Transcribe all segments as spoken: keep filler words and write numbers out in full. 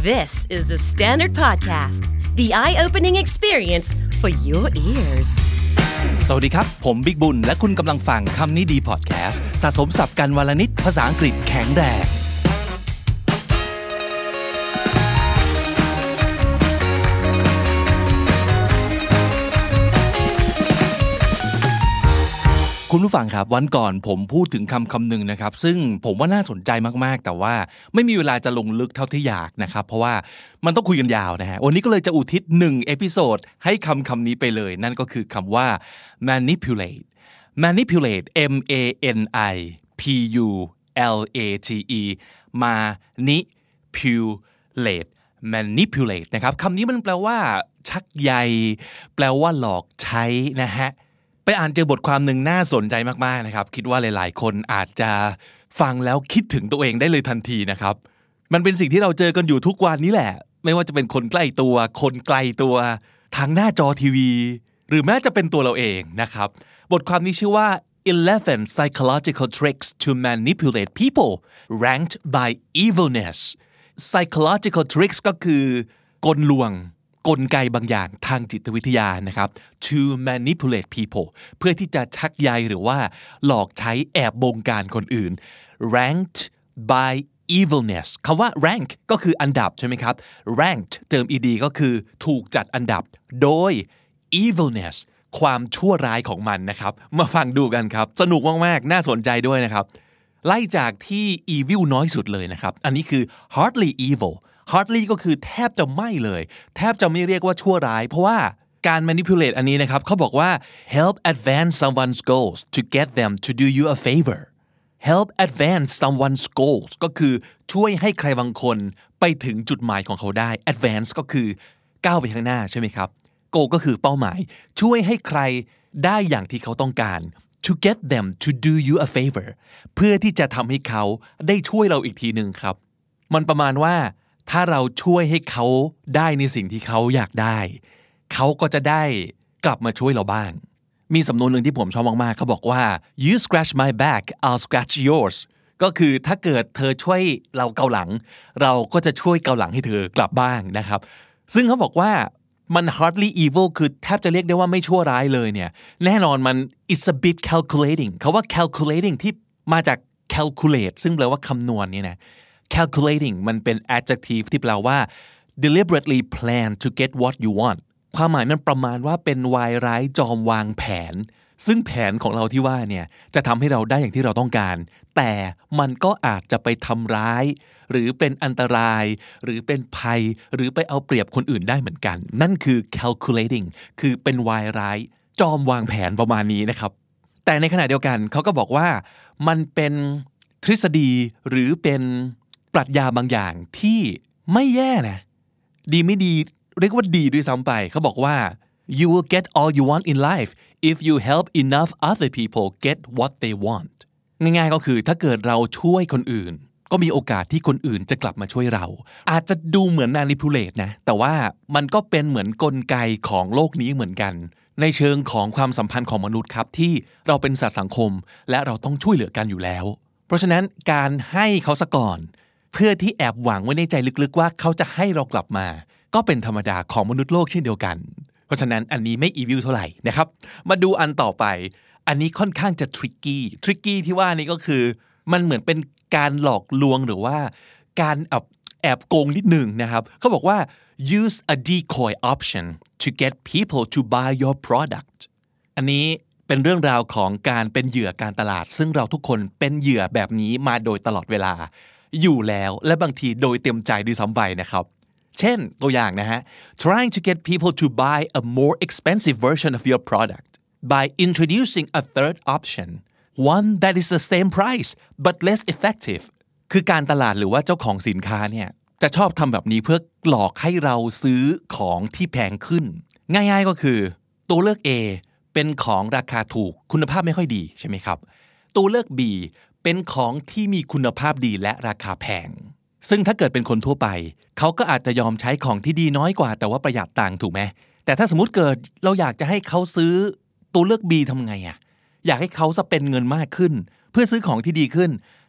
This is the Standard Podcast, the eye-opening experience for your ears. สวัสดีครับผมบิ๊กบุญและคุณกำลังฟังคำนี้ดีพอดแคสต์สะสมศัพท์กันวลนิดภาษาอังกฤษแข็งแรงคุณผู้ฟังครับวันก่อนผมพูดถึงคำคำหนึ่งนะครับซึ่งผมว่าน่าสนใจมากๆแต่ว่าไม่มีเวลาจะลงลึกเท่าที่อยากนะครับเพราะว่ามันต้องคุยกันยาวนะฮะวันนี้ก็เลยจะอุทิศหนึ่งเอพิโซดให้คำคำนี้ไปเลยนั่นก็คือคำว่า manipulate manipulate m a n i p u l a t e manipulate manipulate นะครับคำนี้มันแปลว่าชักใยแปลว่าหลอกใช้นะฮะไปอ่านเจอบทความหนึ่งน่าสนใจมากๆนะครับคิดว่าหลายๆคนอาจจะฟังแล้วคิดถึงตัวเองได้เลยทันทีนะครับมันเป็นสิ่งที่เราเจอกันอยู่ทุกวันนี้แหละไม่ว่าจะเป็นคนใกล้ตัวคนไกลตัวทางหน้าจอทีวีหรือแม้จะเป็นตัวเราเองนะครับบทความนี้ชื่อว่าeleven psychological tricks to manipulate people ranked by evilness psychological tricks ก็คือกลลวงกลไกบางอย่างทางจิตวิทยานะครับ to manipulate people เพื่อที่จะชักใยหรือว่าหลอกใช้แอบบงการคนอื่น ranked by evilness คำว่า rank ก็คืออันดับใช่ไหมครับ ranked เติม ed ก็คือถูกจัดอันดับโดย evilness ความชั่วร้ายของมันนะครับมาฟังดูกันครับสนุกมากๆน่าสนใจด้วยนะครับไล่จากที่ evil น้อยสุดเลยนะครับอันนี้คือ hardly evil hardly ก็คือแทบจะไม่เลยแทบจะไม่เรียกว่าชั่วร้ายเพราะว่าการ manipulate อันนี้นะครับเขาบอกว่า help advance someone's goals to get them to do you a favor help advance someone's goals ก็คือช่วยให้ใครบางคนไปถึงจุดหมายของเขาได้ advance ก็คือก้าวไปข้างหน้าใช่ไหมครับ goal ก็คือเป้าหมายช่วยให้ใครได้อย่างที่เขาต้องการ to get them to do you a favor เพื่อที่จะทำให้เขาได้ช่วยเราอีกทีหนึ่งครับมันประมาณว่าถ้าเราช่วยให้เขาได้ในสิ่งที่เขาอยากได้เขาก็จะได้กลับมาช่วยเราบ้างมีสำนวนหนึ่งที่ผมชอบมากๆเขาบอกว่า you scratch my back I'll scratch yours ก็คือถ้าเกิดเธอช่วยเราเกาหลังเราก็จะช่วยเกาหลังให้เธอกลับบ้างนะครับซึ่งเขาบอกว่ามัน hardly evil คือแทบจะเรียกได้ว่าไม่ชั่วร้ายเลยเนี่ยแน่นอนมัน it's a bit calculating เขาว่า calculating ที่มาจาก calculate ซึ่งแปลว่าคำนวณนี่นะcalculating มันเป็น adjective ที่แปลว่า deliberately plan to get what you want ความหมายมันประมาณว่าเป็นวายร้ายจอมวางแผนซึ่งแผนของเราที่ว่าเนี่ยจะทำให้เราได้อย่างที่เราต้องการแต่มันก็อาจจะไปทำร้ายหรือเป็นอันตรายหรือเป็นภัยหรือไปเอาเปรียบคนอื่นได้เหมือนกันนั่นคือ calculating คือเป็นวายร้ายจอมวางแผนประมาณนี้นะครับแต่ในขณะเดียวกันเขาก็บอกว่ามันเป็นทฤษฎีหรือเป็นปรัชญาบางอย่างที่ไม่แย่นะดีไม่ดีเรียกว่าดีด้วยซ้ำไปเขาบอกว่า you will get all you want in life if you help enough other people get what they want ง่ายๆก็คือถ้าเกิดเราช่วยคนอื่นก็มีโอกาสที่คนอื่นจะกลับมาช่วยเราอาจจะดูเหมือน manipulate นะแต่ว่ามันก็เป็นเหมือนกลไกของโลกนี้เหมือนกันในเชิงของความสัมพันธ์ของมนุษย์ครับที่เราเป็นสัตว์สังคมและเราต้องช่วยเหลือกันอยู่แล้วเพราะฉะนั้นการให้เขาซะก่อนเพื่อที่แอบหวังไว้ในใจลึกๆว่าเขาจะให้เรากลับมาก็เป็นธรรมดาของมนุษย์โลกเช่นเดียวกันเพราะฉะนั้นอันนี้ไม่อีวิลเท่าไหร่นะครับมาดูอันต่อไปอันนี้ค่อนข้างจะทริกกี้ทริกกี้ที่ว่านี่ก็คือมันเหมือนเป็นการหลอกลวงหรือว่าการแอบแอบโกงนิดหนึ่งนะครับเขาบอกว่า use a decoy option to get people to buy your product อันนี้เป็นเรื่องราวของการเป็นเหยื่อการตลาดซึ่งเราทุกคนเป็นเหยื่อแบบนี้มาโดยตลอดเวลาอยู่แล้วและบางทีโดยเต็มใจด้วยซ้ำไปนะครับเช่นตัวอย่างนะฮะ trying to get people to buy a more expensive version of your product by introducing a third option one that is the same price but less effective คือการตลาดหรือว่าเจ้าของสินค้าเนี่ยจะชอบทำแบบนี้เพื่อหลอกให้เราซื้อของที่แพงขึ้นง่ายๆก็คือตัวเลือก A เป็นของราคาถูกคุณภาพไม่ค่อยดีใช่ไหมครับตัวเลือก Bเป็นของที่มีคุณภาพดีและราคาแพงซึ่งถ้าเกิดเป็นคนทั่วไปเขาก็อาจจะยอมใช้ของที่ดีน้อยกว่าแต่ว่าประหยัดตังค์ถูกไหมแต่ถ้าสมมุติเกิดเราอยากจะให้เขาซื้อตัวเลือก B ทำไงอ่ะอยากให้เขาสเปนเงินมากขึ้นเพื่อซื้อของที่ดีขึ้น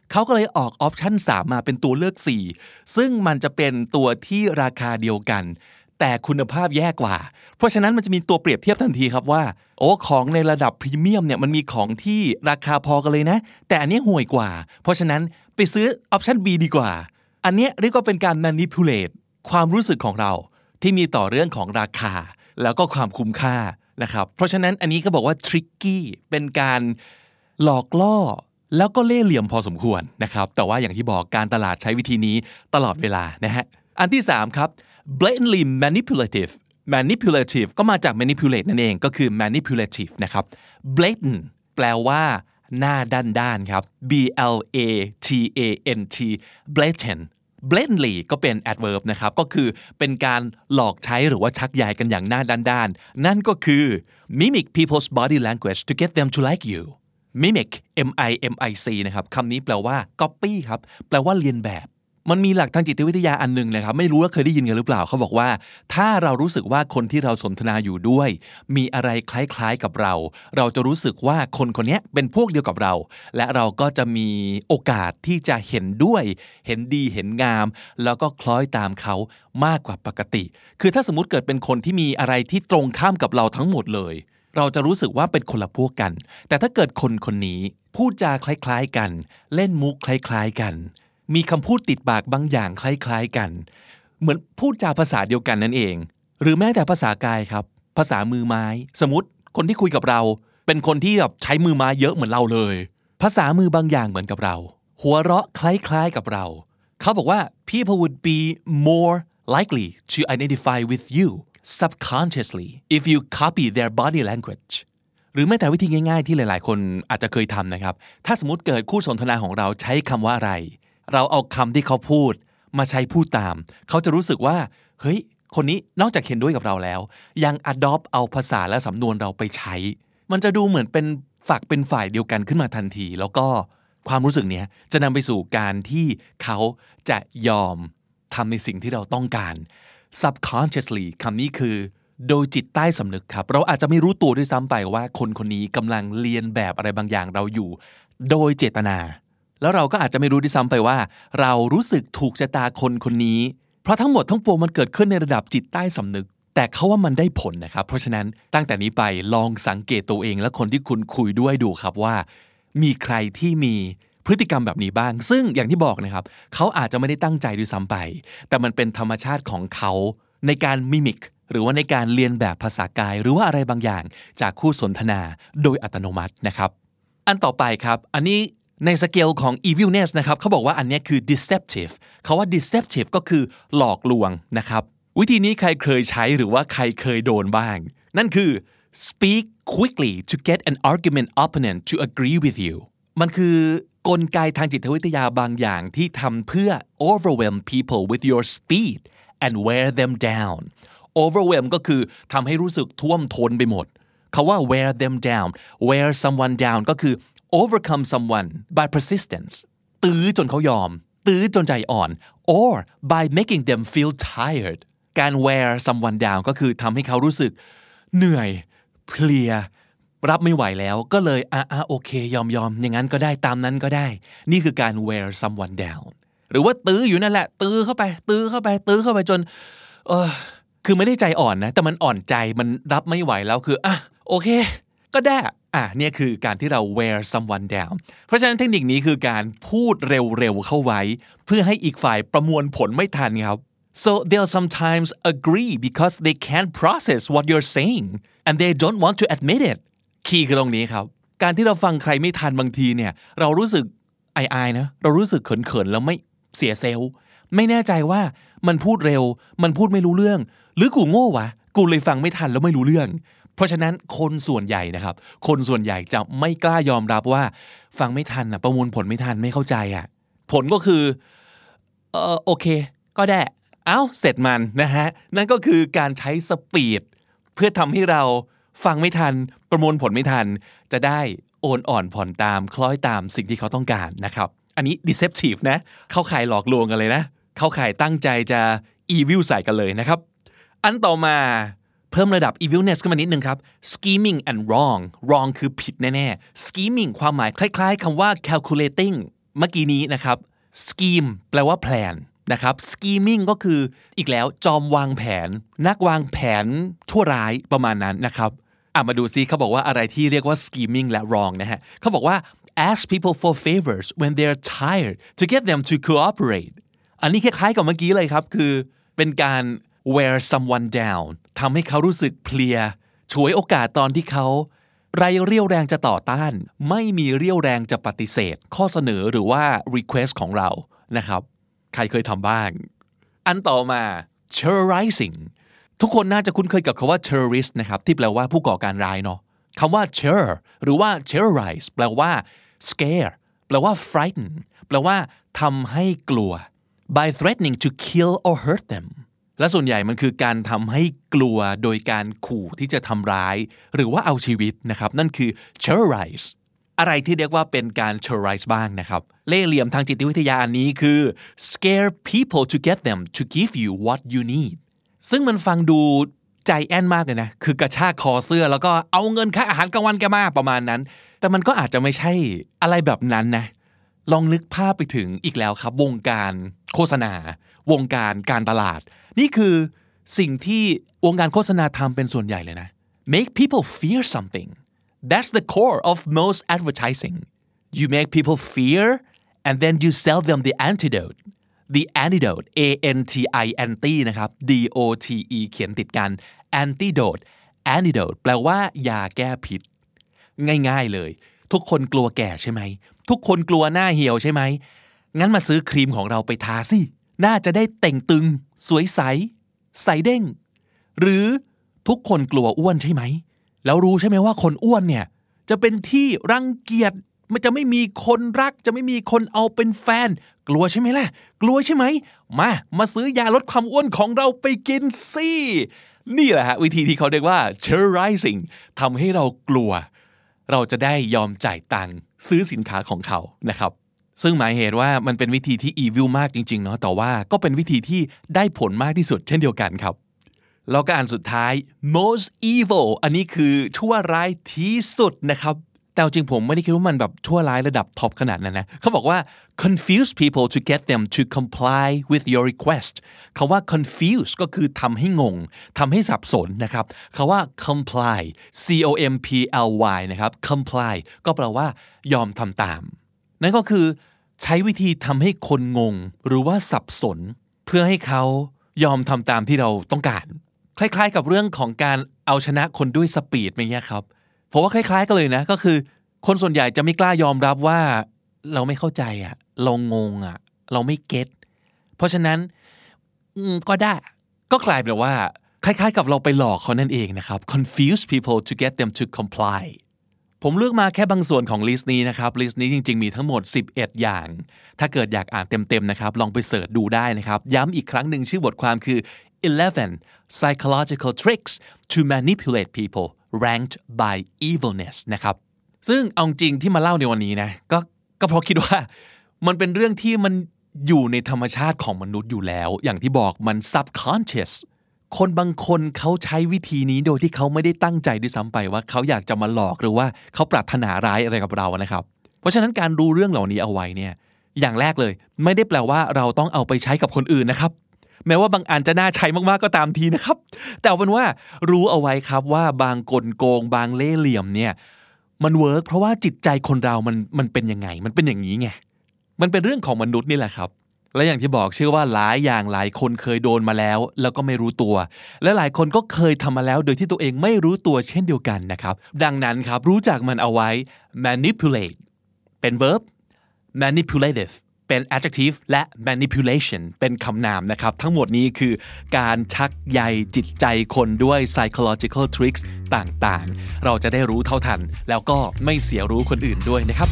เขาก็เลยออกออปชั่นสามมาเป็นตัวเลือกสี่ซึ่งมันจะเป็นตัวที่ราคาเดียวกันแต่คุณภาพแย่กว่าเพราะฉะนั้นมันจะมีตัวเปรียบเทียบทันทีครับว่าโอ้ของในระดับพรีเมียมเนี่ยมันมีของที่ราคาพอกันเลยนะแต่อันนี้ห่วยกว่าเพราะฉะนั้นไปซื้อออปชั่น B ดีกว่าอันนี้เรียกว่าเป็นการ manipulate ความรู้สึกของเราที่มีต่อเรื่องของราคาแล้วก็ความคุ้มค่านะครับเพราะฉะนั้นอันนี้ก็บอกว่า tricky เป็นการหลอกล่อแล้วก็เล่ห์เหลี่ยมพอสมควรนะครับแต่ว่าอย่างที่บอกการตลาดใช้วิธีนี้ตลอดเวลานะฮะอันที่สามครับ blatantly manipulative manipulative ก็มาจาก manipulate นั่นเองก็คือ manipulative นะครับ blatant แปลว่าหน้าด้านๆครับ b l a t a n t blatant blatantly ก็เป็น adverb นะครับก็คือเป็นการหลอกใช้หรือว่าชักใยกันอย่างหน้าด้านๆนั่นก็คือ mimic people's body language to get them to like you mimic m i m i c นะครับคำนี้แปลว่า copy ครับแปลว่าเลียนแบบมันมีหลักทางจิตวิทยาอันนึงนะครับไม่รู้ว่าเคยได้ยินกันหรือเปล่าเขาบอกว่าถ้าเรารู้สึกว่าคนที่เราสนทนาอยู่ด้วยมีอะไรคล้ายๆกับเราเราจะรู้สึกว่าคนคนนี้เป็นพวกเดียวกับเราและเราก็จะมีโอกาสที่จะเห็นด้วยเห็นดีเห็นงามแล้วก็คล้อยตามเขามากกว่าปกติคือถ้าสมมุติเกิดเป็นคนที่มีอะไรที่ตรงข้ามกับเราทั้งหมดเลยเราจะรู้สึกว่าเป็นคนละพวกกันแต่ถ้าเกิดคนคนนี้พูดจาคล้ายๆกันเล่นมุกคล้ายๆกันมีคำพูดติดปากบางอย่างคล้ายๆกันเหมือนพูดจาภาษาเดียวกันนั่นเองหรือแม้แต่ภาษากายครับภาษามือไม้สมมติคนที่คุยกับเราเป็นคนที่แบบใช้มือไม้เยอะเหมือนเราเลยภาษามือบางอย่างเหมือนกับเราหัวเราะคล้ายๆกับเราเขาบอกว่า people would be more likely to identify with you subconsciously if you copy their body language หรือแม้แต่วิธีง่ายๆที่หลายๆคนอาจจะเคยทำนะครับถ้าสมมติเกิดคู่สนทนาของเราใช้คำว่าอะไรเราเอาคำที่เขาพูดมาใช้พูดตามเขาจะรู้สึกว่าเฮ้ยคนนี้นอกจากเห็นด้วยกับเราแล้วยัง adopt เอาภาษาและสำนวนเราไปใช้มันจะดูเหมือนเป็นฝักเป็นฝ่ายเดียวกันขึ้นมาทันทีแล้วก็ความรู้สึกนี้จะนำไปสู่การที่เขาจะยอมทำในสิ่งที่เราต้องการ subconsciously คำนี้คือโดยจิตใต้สำนึกครับเราอาจจะไม่รู้ตัวด้วยซ้ำไปว่าคนคนนี้กำลังเลียนแบบอะไรบางอย่างเราอยู่โดยเจตนาแล้วเราก็อาจจะไม่รู้ด้วยซ้ำไปว่าเรารู้สึกถูกชะตาคนคนนี้เพราะทั้งหมดทั้งปวงมันเกิดขึ้นในระดับจิตใต้สำนึกแต่เขาว่ามันได้ผลนะครับเพราะฉะนั้นตั้งแต่นี้ไปลองสังเกตตัวเองและคนที่คุณคุยด้วยดูครับว่ามีใครที่มีพฤติกรรมแบบนี้บ้างซึ่งอย่างที่บอกนะครับเขาอาจจะไม่ได้ตั้งใจด้วยซ้ำไปแต่มันเป็นธรรมชาติของเขาในการมิมิกหรือว่าในการเรียนแบบภาษากายหรือว่าอะไรบางอย่างจากคู่สนทนาโดยอัตโนมัตินะครับอันต่อไปครับอันนี้ในสเกลของ evilness นะครับเขาบอกว่าอันนี้คือ deceptive เขาว่า deceptive ก็คือหลอกลวงนะครับวิธีนี้ใครเคยใช้หรือว่าใครเคยโดนบ้างนั่นคือ speak quickly to get an argument opponent to agree with you มันคือกลไกทางจิตวิทยาบางอย่างที่ทำเพื่อ overwhelm people with your speed and wear them down overwhelm ก็คือทำให้รู้สึกท่วมท้นไปหมดเขาว่า wear them down wear someone down ก็คือovercome someone by persistence ตื้อจนเขายอมตื้อจนใจอ่อน or by making them feel tired การ wear someone down ก็คือทำให้เขารู้สึกเหนื่อยเพลียรับไม่ไหวแล้วก็เลยอ่ะอ่ะโอเคยอมยอมอย่างนั้นก็ได้ตามนั้นก็ได้นี่คือการ wear someone down หรือว่าตื้ออยู่นั่นแหละตื้อเข้าไปตื้อเข้าไปตื้อเข้าไปจนเออคือไม่ได้ใจอ่อนนะแต่มันอ่อนใจมันรับไม่ไหวแล้วคืออ่ะโอเคก็ได้อ่ะเนี่ยคือการที่เรา wear someone down เพราะฉะนั้นเทคนิคนี้คือการพูดเร็วๆเข้าไว้เพื่อให้อีกฝ่ายประมวลผลไม่ทันครับ so they'll sometimes agree because they can't process what you're saying and they don't want to admit it คีย์คือตรงนี้ครับการที่เราฟังใครไม่ทันบางทีเนี่ยเรารู้สึกอายๆนะเรารู้สึกเขินๆแล้วไม่เสียเซลล์ไม่แน่ใจว่ามันพูดเร็วมันพูดไม่รู้เรื่องหรือกูโง่วะกูเลยฟังไม่ทันแล้วไม่รู้เรื่องเพราะฉะนั้นคนส่วนใหญ่นะครับคนส่วนใหญ่จะไม่กล้ายอมรับว่าฟังไม่ทันนะประมวลผลไม่ทันไม่เข้าใจอ่ะผลก็คือเออโอเคก็ได้เอ้าเสร็จมันนะฮะนั่นก็คือการใช้สปีดเพื่อทำให้เราฟังไม่ทันประมวลผลไม่ทันจะได้โอนอ่อนผ่อนตามคล้อยตามสิ่งที่เขาต้องการนะครับอันนี้ deceptive นะเข้าข่ายหลอกลวงกันเลยนะเข้าข่ายตั้งใจจะ evil ใส่กันเลยนะครับอันต่อมาเพิ่มระดับ evilness ขึ้นมานิดนึงครับ scheming and wrong wrong คือผิดแน่ๆ scheming ความหมายคล้ายๆคำว่า calculating เมื่อกี้นี้นะครับ scheme แปลว่าแพลนนะครับ scheming ก็คืออีกแล้วจอมวางแผนนักวางแผนชั่วร้ายประมาณนั้นนะครับอ่ะมาดูซิเขาบอกว่าอะไรที่เรียกว่า scheming และ wrong นะฮะเขาบอกว่า ask people for favors when they're tired to get them to cooperate อันนี้คล้ายๆกับเมื่อกี้เลยครับคือเป็นการ wear someone down ทำให้เขารู้สึกเพลียฉวยโอกาสตอนที่เขาไรเรี่ยวแรงจะต่อต้านไม่มีเรี่ยวแรงจะปฏิเสธข้อเสนอหรือว่า request ของเรานะครับใครเคยทำบ้างอันต่อมา terrorizing ทุกคนน่าจะคุ้นเคยกับคำว่า terrorist นะครับที่แปลว่าผู้ก่อการร้ายเนาะคำว่า terror หรือว่า terrorize แปลว่า scare แปลว่า frighten แปลว่าทำให้กลัว by threatening to kill or hurt them และส่วนใหญ่มันคือการทำให้กลัวโดยการขู่ที่จะทำร้ายหรือว่าเอาชีวิตนะครับนั่นคือ terrorize อะไรที่เรียกว่าเป็นการ terrorize บ้างนะครับเล่ห์เหลี่ยมทางจิตวิทยาอันนี้คือ scare people to get them to give you what you need ซึ่งมันฟังดูใจแอนมากเลยนะคือกระชากคอเสื้อแล้วก็เอาเงินค่าอาหารกลางวันแกมาประมาณนั้นแต่มันก็อาจจะไม่ใช่อะไรแบบนั้นนะลองนึกภาพไปถึงอีกแล้วครับวงการโฆษณาวงการการตลาดนี่คือสิ่งที่วงการโฆษณาทำเป็นส่วนใหญ่เลยนะ make people fear something that's the core of most advertising you make people fear and then you sell them the antidote the antidote A N T I anti นะครับ D O T E เขียนติดกัน antidote antidote แปลว่ายาแก้พิษง่ายๆเลยทุกคนกลัวแก่ใช่ไหมทุกคนกลัวหน้าเหี่ยวใช่ไหมงั้นมาซื้อครีมของเราไปทาสิน่าจะได้เต่งตึงสวยใสใสเด้งหรือทุกคนกลัวอ้วนใช่ไหมแล้วรู้ใช่ไหมว่าคนอ้วนเนี่ยจะเป็นที่รังเกียจมันจะไม่มีคนรักจะไม่มีคนเอาเป็นแฟนกลัวใช่ไหมล่ะกลัวใช่ไหมมามาซื้อยาลดความอ้วนของเราไปกินสินี่แหละฮะวิธีที่เขาเรียกว่า terrorizing ทำให้เรากลัวเราจะได้ยอมจ่ายตังค์ซื้อสินค้าของเขานะครับซึ่งหมายเหตุว่ามันเป็นวิธีที่ evil มากจริงๆเนาะแต่ว่าก็เป็นวิธีที่ได้ผลมากที่สุดเช่นเดียวกันครับแล้วก็อันสุดท้าย most evil อันนี้คือชั่วร้ายที่สุดนะครับแต่จริงผมไม่ได้คิดว่ามันแบบชั่วร้ายระดับท็อปขนาดนั้นนะเขาบอกว่า confuse people to get them to comply with your request คำว่า confuse ก็คือทำให้งงทำให้สับสนนะครับคำว่า comply C O M P L Y นะครับ comply ก็แปลว่ายอมทำตามนั่นก็คือใช้วิธีทำให้คนงงหรือว่าสับสนเพื่อให้เขายอมทำตามที่เราต้องการคล้ายๆกับเรื่องของการเอาชนะคนด้วยสปีดอย่างเงี้ยครับเพราะว่าคล้ายๆกันเลยนะก็คือคนส่วนใหญ่จะไม่กล้ายอมรับว่าเราไม่เข้าใจอ่ะเรางงอ่ะเราไม่เก็ตเพราะฉะนั้นก็ได้ก็กลายเป็นว่าคล้ายๆกับเราไปหลอกเขานั่นเองนะครับ confuse people to get them to comply ผมเลือกมาแค่บางส่วนของลิสต์นี้นะครับลิสต์นี้จริงๆมีทั้งหมดสิบเอ็ดอย่างถ้าเกิดอยากอ่านเต็มๆนะครับลองไปเสิร์ชดูได้นะครับย้ำอีกครั้งหนึ่งชื่อบทความคือ eleven psychological tricks to manipulate people ranked by evilness นะครับซึ่งเอาจริงที่มาเล่าในวันนี้นะก็ก็เพราะคิดว่ามันเป็นเรื่องที่มันอยู่ในธรรมชาติของมนุษย์อยู่แล้วอย่างที่บอกมัน subconscious คนบางคนเขาใช้วิธีนี้โดยที่เขาไม่ได้ตั้งใจด้วยซ้ำไปว่าเขาอยากจะมาหลอกหรือว่าเขาปรารถนาร้ายอะไรกับเรานะครับเพราะฉะนั้นการรู้เรื่องเหล่านี้เอาไว้เนี่ยอย่างแรกเลยไม่ได้แปลว่าเราต้องเอาไปใช้กับคนอื่นนะครับแม้ว่าบางอันจะน่าใช้มากๆก็ตามทีนะครับแต่เอาเป็นว่ารู้เอาไว้ครับว่าบางกลโกงบางเล่ห์เหลี่ยมเนี่ยมันเวิร์กเพราะว่าจิตใจคนเรามันมันเป็นยังไงมันเป็นอย่างนี้ไงมันเป็นเรื่องของมนุษย์นี่แหละครับและอย่างที่บอกเชื่อว่าหลายอย่างหลายคนเคยโดนมาแล้วแล้วก็ไม่รู้ตัวและหลายคนก็เคยทำมาแล้วโดยที่ตัวเองไม่รู้ตัวเช่นเดียวกันนะครับดังนั้นครับรู้จักมันเอาไว้ manipulate เป็น verb manipulativeเป็น adjective และ manipulation เป็นคำนามนะครับทั้งหมดนี้คือการชักใยจิตใจคนด้วย psychological tricks ต่างๆเราจะได้รู้เท่าทันแล้วก็ไม่เสียรู้คนอื่นด้วยนะครับ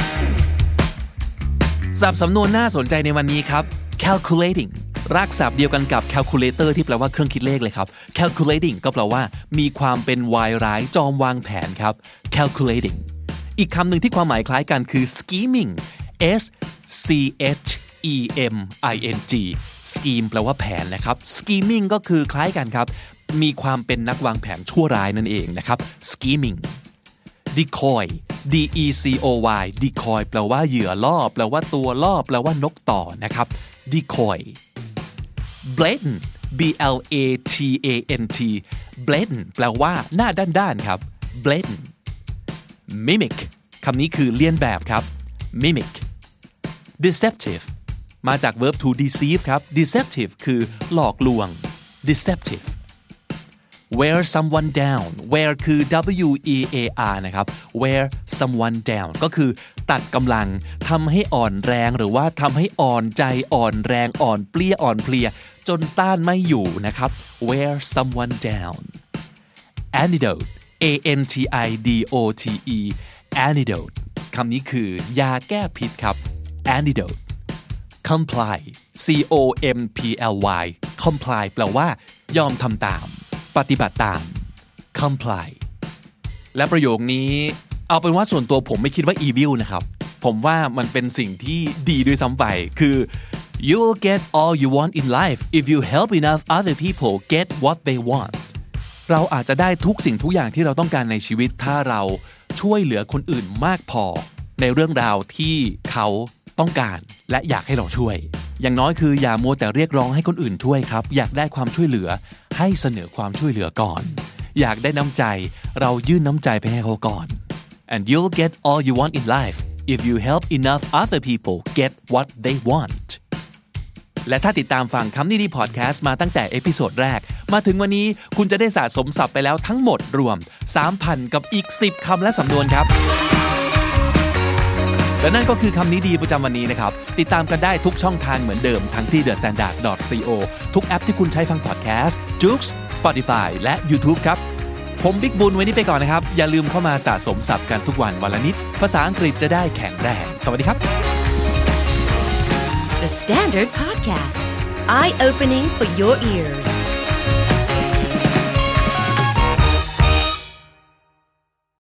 ศัพท์สำนวนน่าสนใจในวันนี้ครับ calculating รากศัพท์เดียวกันกับ calculator ที่แปลว่าเครื่องคิดเลขเลยครับ calculating ก็แปลว่ามีความเป็นวายร้ายจอมวางแผนครับ calculating อีกคำหนึ่งที่ความหมายคล้ายกันคือ scheming S C H E M I N G scheme แปลว่าแผนนะครับ scheming ก็คือคล้ายกันครับมีความเป็นนักวางแผนชั่วร้ายนั่นเองนะครับ scheming decoy D E C O Y decoy แปลว่าเหยื่อล่อแปลว่าตัวล่อแปลว่านกต่อนะครับ decoy blatant B L A T A N T blatant แปลว่าหน้าด้านๆครับ blatant mimic คำนี้คือเลียนแบบครับ mimic deceptive มาจาก verb to deceive ครับ deceptive คือหลอกลวง deceptive wear someone down wear คือ W E A R นะครับ wear someone down ก็คือตัดกำลังทำให้อ่อนแรงหรือว่าทำให้อ่อนใจอ่อนแรงอ่อนเปลี้ยอ่อนเพลียจนต้านไม่อยู่นะครับ wear someone down antidote A N T I D O T E antidote คำนี้คือยาแก้พิษครับ antidote comply C O M P L Y comply แปลว่ายอมทำตามปฏิบัติตาม comply และประโยคนี้เอาเป็นว่าส่วนตัวผมไม่คิดว่า evil นะครับผมว่ามันเป็นสิ่งที่ดีด้วยซ้ำไปคือ you'll get all you want in life if you help enough other people get what they want เราอาจจะได้ทุกสิ่งทุกอย่างที่เราต้องการในชีวิตถ้าเราช่วยเหลือคนอื่นมากพอในเรื่องราวที่เขาต้องการและอยากให้เราช่วยอย่างน้อยคืออย่ามัวแต่เรียกร้องให้คนอื่นช่วยครับอยากได้ความช่วยเหลือให้เสนอความช่วยเหลือก่อนอยากได้น้ำใจเรายื่นน้ำใจไปให้เขาก่อน and you'll get all you want in life if you help enough other people get what they want และถ้าติดตามฟังคำนี้ดีพอดแคสต์มาตั้งแต่เอพิโซดแรกมาถึงวันนี้คุณจะได้สะสมศัพท์ไปแล้วทั้งหมดรวม สามพัน กับอีกสิบคำและสำนวนครับและนั่นก็คือคำนี้ดีประจำวันนี้นะครับติดตามกันได้ทุกช่องทางเหมือนเดิมทั้งที่ เดอะ สแตนดาร์ด ดอท ซี โอ ทุกแอปที่คุณใช้ฟังพอดแคสต์ Joox Spotify และ YouTube ครับผมบิ๊กบุญวันนี้ไปก่อนนะครับอย่าลืมเข้ามาสะสมศัพท์กันทุกวันวันละนิดภาษาอังกฤษจะได้แข็งแรงสวัสดีครับ The Standard Podcast Eye Opening for Your Ears